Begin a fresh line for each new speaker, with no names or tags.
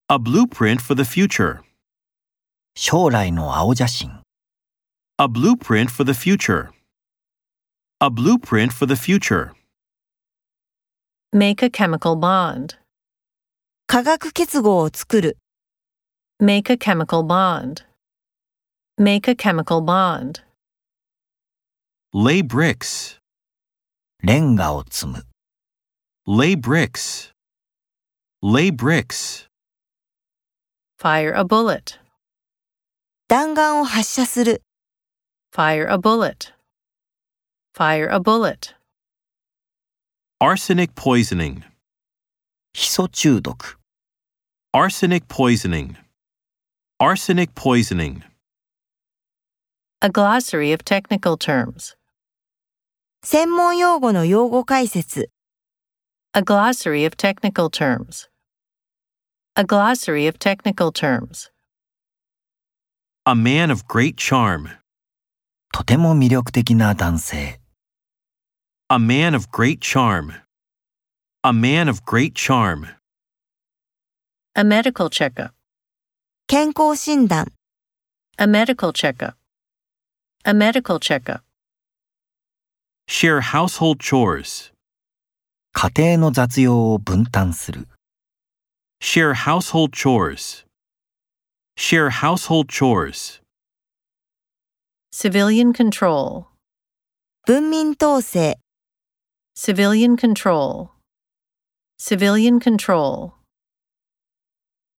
A blueprint for the future.
将来の青写真。
A blueprint for the future. A blueprint for the future.
Make a chemical bond.
化学結合を作る。
Make a chemical bond. Make a chemical bond.
Lay bricks.
レンガを積む。
Lay bricks. Lay bricks.
Fire a bullet.
弾丸を発射する。
Fire a bullet. Fire a bullet.
Arsenic poisoning.
ヒ素中毒。
Arsenic poisoning. Arsenic poisoning.
A glossary of technical terms.
専門用語の用語解説。
A glossary of technical terms. A glossary of technical terms.
A man of great charm.
とても魅力的な男性。
A man of great charm. A man of great charm.
A medical checkup.
健康診断。
A medical checkup. A medical checkup.
Share household chores.
家庭の雑用を分担する。
Share household chores. Share household chores.
Civilian control.
文民統制。
Civilian control. Civilian control.